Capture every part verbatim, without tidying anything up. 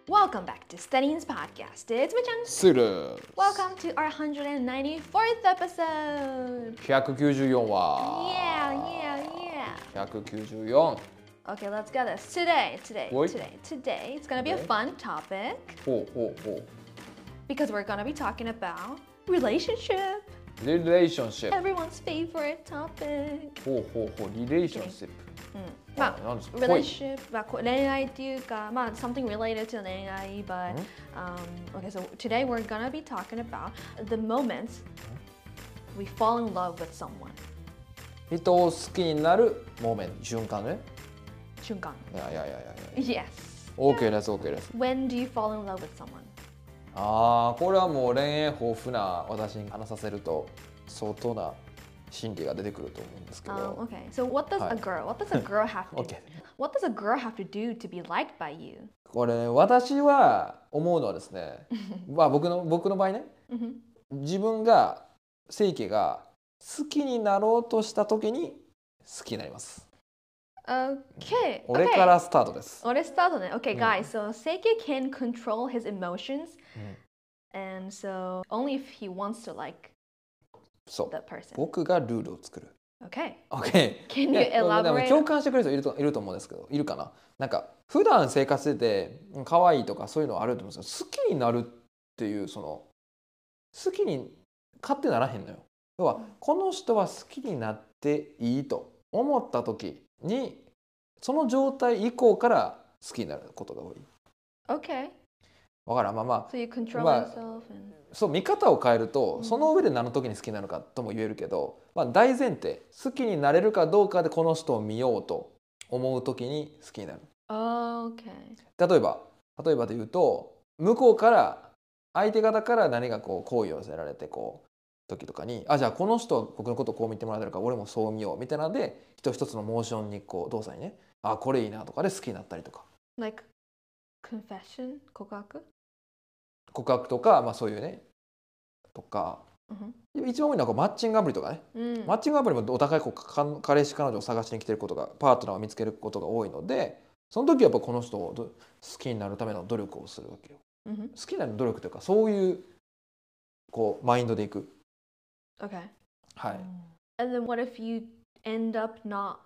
Welcome back to Studying's podcast. It's Michan. スル Welcome to our one hundred ninety-fourth episode. ひゃくきゅうじゅうよん 話 Yeah, yeah, yeah. ひゃくきゅうじゅうよん Okay, let's get this. Today, today, What? today, today, it's gonna be a Okay. fun topic ほうほうほ because we're gonna be talking about relationship. うリレーションシップ Everyone's favorite topic. ほうほうほうリレーションシップまあ、 何ですか relationship はこ恋愛っていうか、まあ、something related to 恋愛 but、um, okay, so today we're gonna be talking about the moments we fall in love with someone. 人を好きになるモーメント瞬間ね瞬間。 いやいやいやいや Yes. OK です OK です When do you fall in love with someone? ああこれはもう恋愛豊富な私に話させると相当な心理が出てくると思うんですけ Um, ど okay, so what does はい a girl, what does a girl have to, OK what does a girl have to do to be liked by you? これ、ね、私は思うのはですねまあ僕の僕の場合ね自分がセイケが好きになろうとした時に好きになります Okay. 俺からスタートです。 俺スタートね。Okay, guys, so Seike can control his emotions, and so only if he wants to like そう that person. 僕がルールを作る。 Okay. OK。 Can you ねでも elaborate? 共感してくれる人いるといると思うんですけど、いるかな。なんか普段生活してて可愛いとかそういうのあると思うんですけど、好きになるっていうその好きに勝手ならへんのよ。要はこの人は好きになっていいと思った時にその状態以降から好きになることが多い。 Okay. わからんまあまあ So you control まあ yourself and そう見方を変えるとその上で何の時に好きなのかとも言えるけど、まあ、大前提好きになれるかどうかでこの人を見ようと思う時に好きになる。 Okay. 例えば例えばで言うと向こうから相手方から何かこう好意を寄せられてこう時とかにあじゃあこの人は僕のことをこう見てもらえてるから俺もそう見ようみたいなので一つ一つのモーションにこう動作にねあこれいいなとかで好きになったりとか Like confession? 告白？ 告白とか、まあ、そういうねとか、 うん一番多いのはこうマッチングアプリとかね、 うんマッチングアプリもお互いこうか彼氏彼女を探しに来てることがパートナーを見つけることが多いのでその時はやっぱこの人をど好きになるための努力をするわけよ。 うん好きになる努力というかそういうこうマインドでいく。 Okay. はい。 And then what if you end up not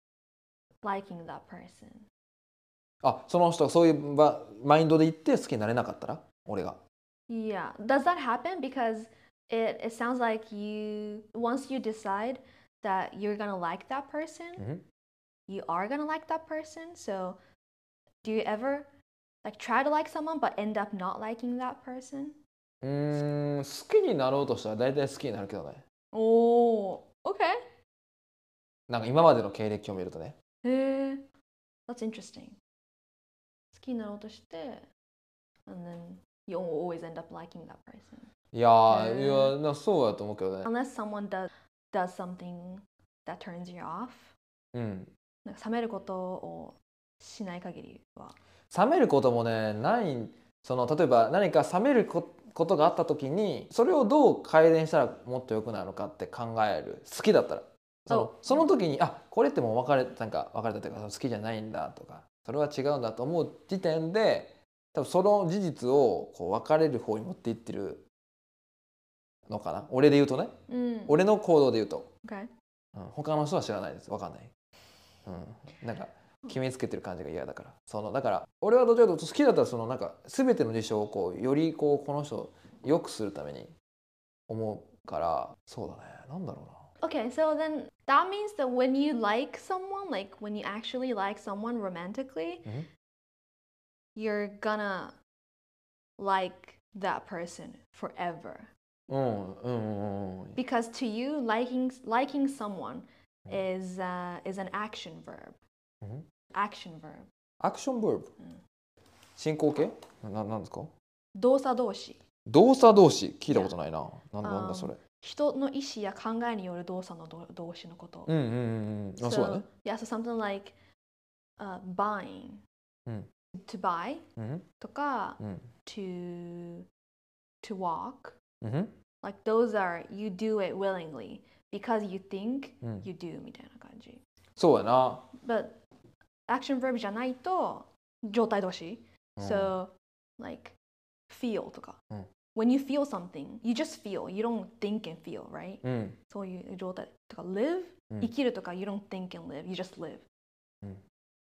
liking that person? あその人がそういうばマインドでいって好きになれなかったら俺が Yeah. Does that happen? Because it, it sounds like you, once you decide that you're gonna like that person, うん you are gonna like that person. So do you ever like try to like someone but end up not liking that person? うーん好きになろうとしたら大体好きになるけどね Oh, okay. なんか今までの経歴を見るとね Eh, that's interesting. 好きになろうとして、and then you always end up liking that person. いやー、 へーいやなそうだと思うけどね Unless someone does, does something that turns you off. うんなんか冷めることをしない限りは。 冷めることもねないその例えば何か冷めるこことがあった時にそれをどう改善したらもっと良くなるのかって考える好きだったらそのその時にあこれってもう別れなんか別れたというか好きじゃないんだとかそれは違うんだと思う時点で多分その事実をこう別れる方に持っていってるのかな俺で言うとね、 うん。 俺の行動で言うと、 Okay. うん、他の人は知らないです分かんない、うん、なんか決めつけてる感じが嫌だからそのだから俺はどちらかというと好きだったらそのなんか全ての事象をこうよりこうこの人を良くするために思うからそうだねなんだろうな Okay, so then that means that when you like someone, like when you actually like someone romantically, Mhm. you're gonna like that person forever. うんうんうんうん Because to you, liking liking someone is uh, is an action verb. Mhm. Action verb. アクションブーブ進行形ななんですか動作動詞。 動作動詞聞いたことないななんだなんだそれ人の意思や考えによる動作の動動詞のこと。 うんうんうんうんあそうだ So, ね yeah, so something like uh, buying. うん To buy うんとか、 うん to to walk. うん Like those are you do it willingly because you think うん you do みたいな感じ。 そうやな But action verb じゃないと状態動詞。 うん So like feel とか、 うん、 when you feel something, you just feel. You don't think and feel, right? うん、 そういう状態とか live、 うん、 生きるとか you don't think and live, you just live、 うん、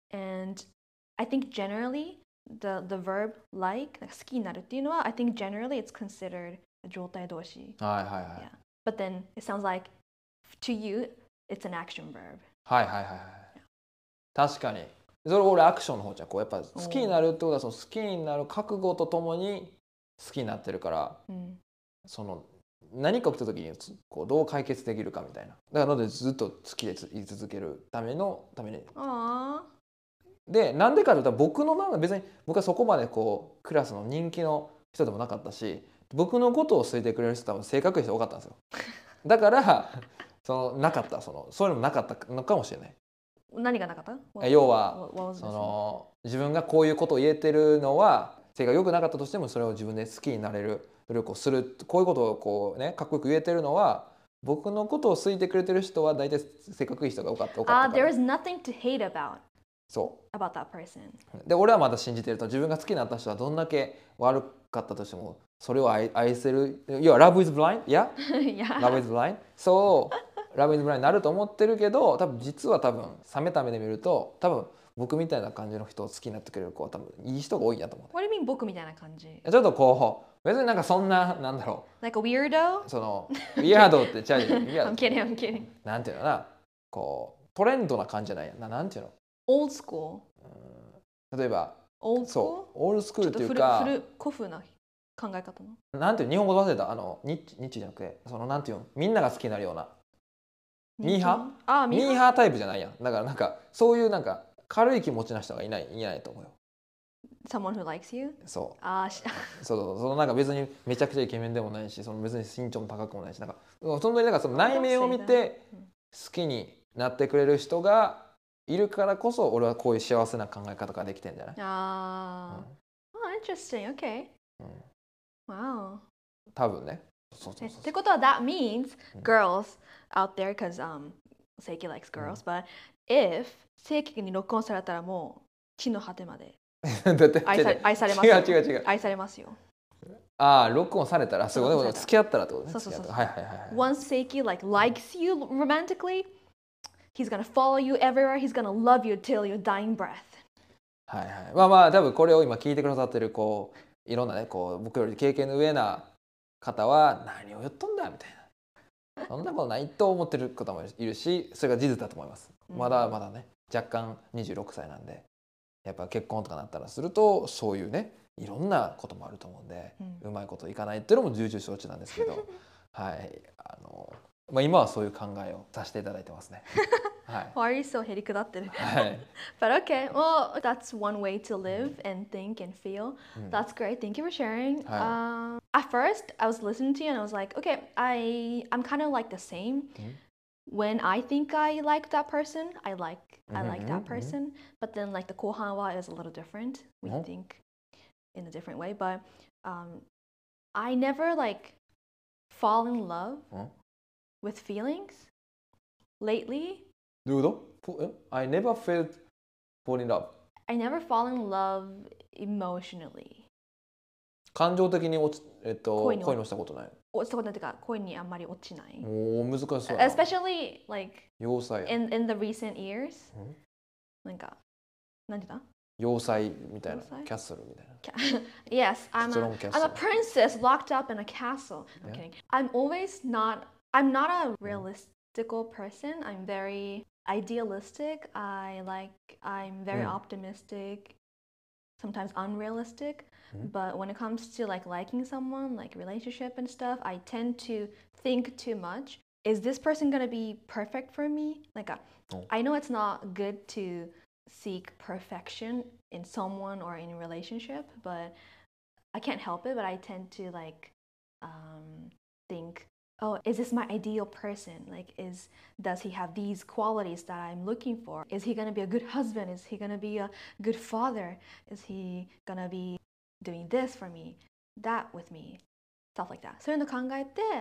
and I think generally the, the verb like なんか好きになるっていうのは I think generally it's considered 状態動詞、 はいはいはい、 yeah. But then it sounds like to you it's an action verb、 はいはいはいはい、確かにそれ俺アクションの方じゃこうやっぱ好きになるってことはその好きになる覚悟とともに好きになってるから、うん、その何か起きた時にこうどう解決できるかみたいなだからのでずっと好きで言い続けるためのためにでなんでかというと僕のまま別に僕はそこまでこうクラスの人気の人でもなかったし僕のことを好いてくれる人多分性格いい人多かったんですよだからそのなかったそのそういうのもなかったのかもしれない何がなかった要はその自分がこういうことを言えてるのは性格良くなかったとしてもそれを自分で好きになれる努力をするこういうことをこうねかっこよく言えてるのは僕のことを好いてくれてる人は大体性格いい人が多かった多かったから。 Uh, there is nothing to hate about. そう。 about that person. で俺はまだ信じてると自分が好きになった人はどんだけ悪かったとしてもそれを 愛, 愛せる要は Love is blind? Yeah? yeah. Love is blind? そう。Love is blind になると思ってるけど多分実は多分冷めた目で見ると多分僕みたいな感じの人を好きになってくれる子は多分いい人が多いんやと思う。 What do you mean 僕みたいな感じ？ ちょっとこう別になんかそんななんだろう。Like a weirdo？ そのウィアードってちゃうじゃん。 I'm kidding, I'm kidding. なんていうのかなこうトレンドな感じじゃないやななんていうの ？Old school。 例えば Old school？ そうオールスクールっていうか古古風な考え方の。 なんていう日本語忘れたあのニッチニッチじゃなくてそのなんていうのみんなが好きになるようなミーハー？ あミーハータイプじゃないやん。だからなんかそういうなんか軽い気持ちな人がいないいないと思うよ。 Someone who likes you? そう。 あそうそうそのなんか別にめちゃくちゃイケメンでもないし、その別に身長も高くもないし、なんか本当になんかその内面を見て好きになってくれる人がいるからこそ、俺はこういう幸せな考え方ができてんじゃない？ ああ。Oh, interesting. Okay. うん。 Wow. 多分ね。そうそうそう。 ってことは that means girls out there, because um, Seiki likes girls, but if 正規に録音されたらもう地の果てまで愛され愛されますよ。 違う違う違う。 愛されますよ。 ああ、録音されたら、そういうこと付き合ったらってことね。 そうそうそう。 はいはいはい。 Once Seiki like likes you romantically, he's gonna follow you everywhere. He's gonna love you till your dying breath. はいはい。まあまあ多分これを今聞いてくださってるこういろんなねこう僕より経験の上な方は何を言っとんだみたいな。そんなことないと思ってる方もいるし、それが事実だと思います。まだまだね、若干にじゅうろくさいなんで、やっぱ結婚とかなったらすると、そういうね、いろんなこともあると思うんで、うん、うまいこといかないっていうのも重々承知なんですけど、はい、あの、まあ今はそういう考えをさせていただいてますね。はい。 Why are you so へりくだってる？ はい。 But okay, well, that's one way to live and think and feel. That's great. Thank you for sharing. Um, at first, I was listening to you and I was like, okay, I I'm kind of like the same. When I think I like that person, I like I like that person. But then like the 後半は is a little different. We think in a different way. But um, I never like fall in love with feelings lately. どういうこと I never felt fall in love. I never fall in love emotionally. 感情的に落ち、えっと、恋のしたことない。 落ちたことないというか、恋にあんまり落ちない。 おお、難しそうだな。Especially like 要塞 in in the recent years. なんか、なんて言った？ 要塞みたいな、キャッスルみたいな。 Yes, I'm a, I'm a princess locked up in a castle. I'm kidding. I'm always not, I'm not a realistical person. I'm very idealistic. I like, I'm very optimistic, sometimes unrealistic. But when it comes to like liking someone, like relationship and stuff, I tend to think too much. Is this person gonna be perfect for me? Like, a, I know it's not good to seek perfection in someone or in a relationship, but I can't help it. But I tend to like um, think, oh, is this my ideal person? Like, is does he have these qualities that I'm looking for? Is he gonna be a good husband? Is he gonna be a good father? Is he gonna be doing this for me, that with me, stuff like that. そういうの考えて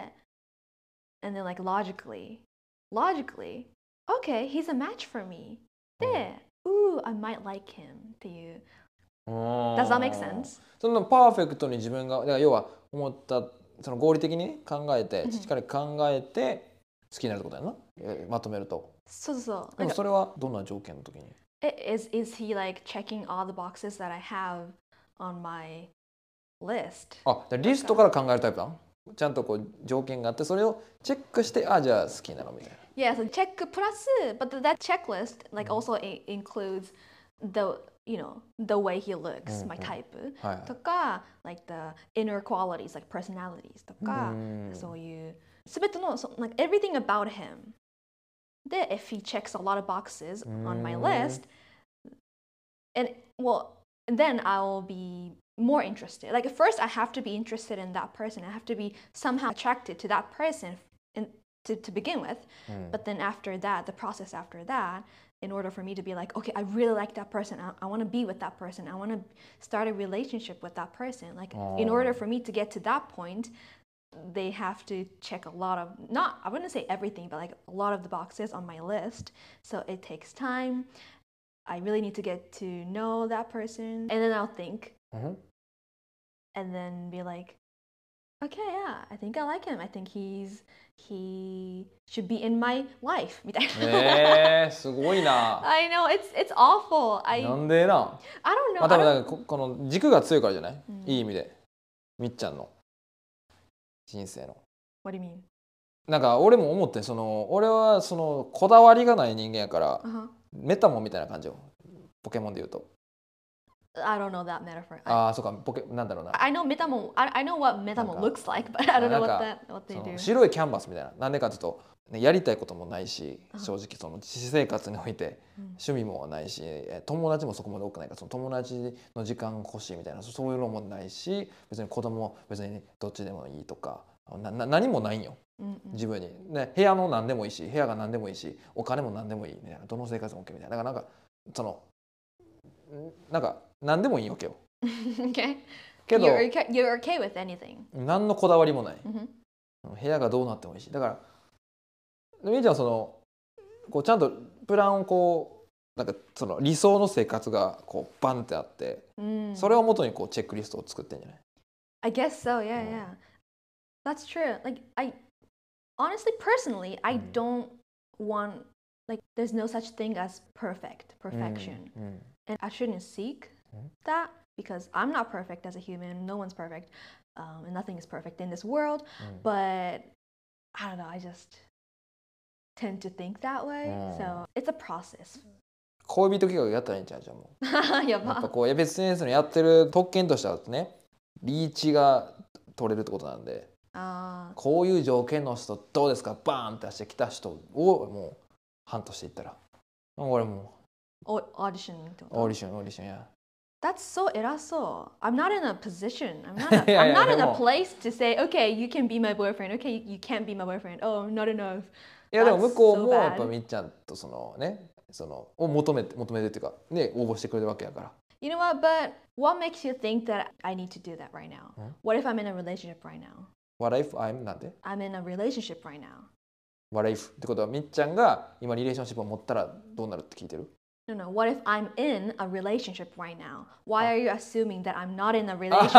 and then like logically, logically, okay, he's a match for me. で、ooh, I might like him っていう Does that make sense? そのパーフェクトに自分がだから要は思ったその合理的に考えてしっかり考えて好きになるってことやな、えまとめると。 そうそう。 でもそれはどんな条件の時に Is, is he like checking all the boxes that I have on my list? あ、リストから考えるタイプなの？ちゃんとこう条件があってそれをチェックしてあじゃあ好きなのみたいな。 Yeah, so check plus, but that checklist like also includes the you know the way he looks, my type とか like the inner qualities like personalities とかそういう全ての like everything about him. で if he checks a lot of boxes on my list, and well then I will be more interested. Like at first I have to be interested in that person. I have to be somehow attracted to that person in, to, to begin with. Mm. But then after that, the process after that, in order for me to be like, okay, I really like that person. I, I want to be with that person. I want to start a relationship with that person. Like oh. in order for me to get to that point, they have to check a lot of, not, I wouldn't say everything, but like a lot of the boxes on my list. So it takes time. I really need to get to know that person. And then I'll think. Mm-hmm. And then be like, okay, yeah, I think I like him. I think he's he should be in my life. みたいな。えー、すごいな。I know it's it's awful. I なんでな。I don't know. まあ多分なんかこの軸が強いからじゃない？うん、いい意味で。みっちゃんの人生の。What do you mean? なんか俺も思ってその俺はそのこだわりがない人間やから、uh-huh. メタモンみたいな感じよ。ポケモンで言うと。I don't know that metaphor. ああ、そうか、ポケなんだろうな。I know Metamon. I, I know what Metamon looks like, but I don't know what that what they do. 白いキャンバスみたいな。なんでかというと、ね、やりたいこともないし、正直その私生活において趣味もないし、友達もそこまで多くないから、その友達の時間欲しいみたいなそういうのもないし、別に子供別にどっちでもいいとか、なな何もないんよ。自分に、ね、部屋の何でもいいし、部屋が何でもいいし、お金も何でもいいみたいな、どの生活も OK みたいな。だからなんかそのなんか何でもいいわけよ。Okay. けど you're, you're okay with anything. 何のこだわりもない。Mm-hmm. 部屋がどうなってもいいし。だからみーちゃんはそのこうちゃんとプランをこうなんかその理想の生活がこうバンってあって、mm. それをもとにこうチェックリストを作ってんじゃない I guess so. Yeah, yeah. That's true. Like I honestly, personally, I don't want like there's no such thing as perfect perfection, mm. and I shouldn't seek that because I'm not perfect as a human. No one's perfect, um, and nothing is perfect in this world. Mm. But I don't know. I just tend to think that way. Mm. So it's a process. 恋人企画やったらいいんちゃうじゃんもう。やば。やっぱこうエベス エヌエス のやってる特権としてはね、リーチが取れるってことなんで。あこういう条件の人どうですかバーンって出してきた人をもうハントしていったら俺もうオーディションオーディションオーディションや That's so 偉そう I'm not in a position I'm not, a, I'm not in a place to say okay you can be my boyfriend okay you, you can't be my boyfriend oh not enough いやでも向こうもやっぱみっちゃんとそのねそのを求めて求めてっていうかね応募してくれるわけやから You know what but what makes you think that I need to do that right now What if I'm in a relationship right now What if I'm なんで I'm in a relationship right now. What if ってことはみっちゃんが今リレーションシップを持ったらどうなるって聞いてる No, no. What if I'm in a relationship right now? Why are you assuming that I'm not in a relationship?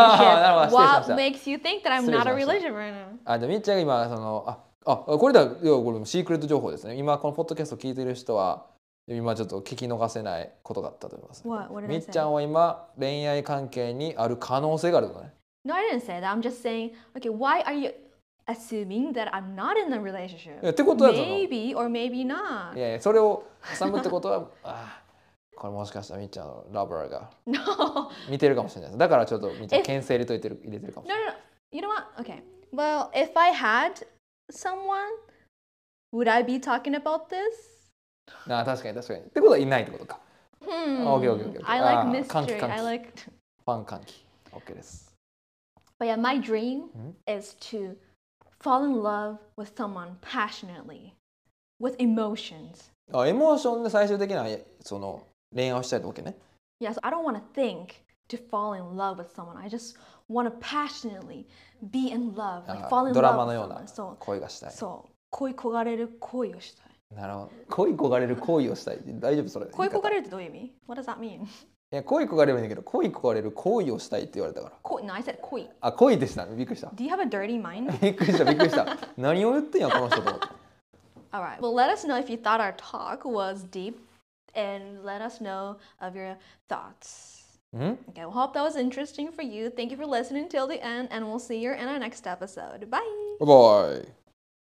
What makes you think that I'm not in a relationship right now? あ、じゃあみっちゃんが今そのああこれだこれシークレット情報ですね。今このポッドキャストを聞いている人は今ちょっと聞き逃せないことがあったと思います、ね。What? What did I say? みっちゃんは今恋愛関係にある可能性があるのね。No, I didn't say that. I'm just saying, okay, why are you assuming that I'm not in a relationship? ってことは maybe or maybe not. いやいや、それを挟むってことは、あこれもしかしたらみっちゃんのラバーが見てるかもしれないです。だからちょっとみっちゃん牽制入れといてる入れてるかもしれない。No, no, no. You know what? Okay. Well, if I had someone, would I be talking about this? あ、確かに確かに。ってことはいないってことか。Hmm. Okay, okay, okay. I like mystery. I like ファン歓喜。OK です。But yeah, my dream is to fall in love with someone passionately, with emotions. あ、エモーションで最終的なその恋愛をしたいってわけね。Yeah, so I don't want to think to fall in love with someone. I just want to passionately be in love, like fall in love with someone. ドラマのような恋がしたい。そう、恋焦がれる恋をしたい。なるほど。恋焦がれる恋をしたい。大丈夫それ？恋焦がれるってどういう意味？ What does that mean? いや恋焦がれるんだけど恋焦がれる行為をしたいって言われたから。 恋 No, I said 恋。 あ、恋でした。びっくりした。 Do you have a dirty mind? びっくりしたびっくりした。何を言ってんやこの人と思って。 Alright, well let us know if you thought our talk was deep and let us know of your thoughts. Mm-hmm. Okay, well hope that was interesting for you. Thank you for listening till the end and we'll see you in our next episode. Bye! Bye bye!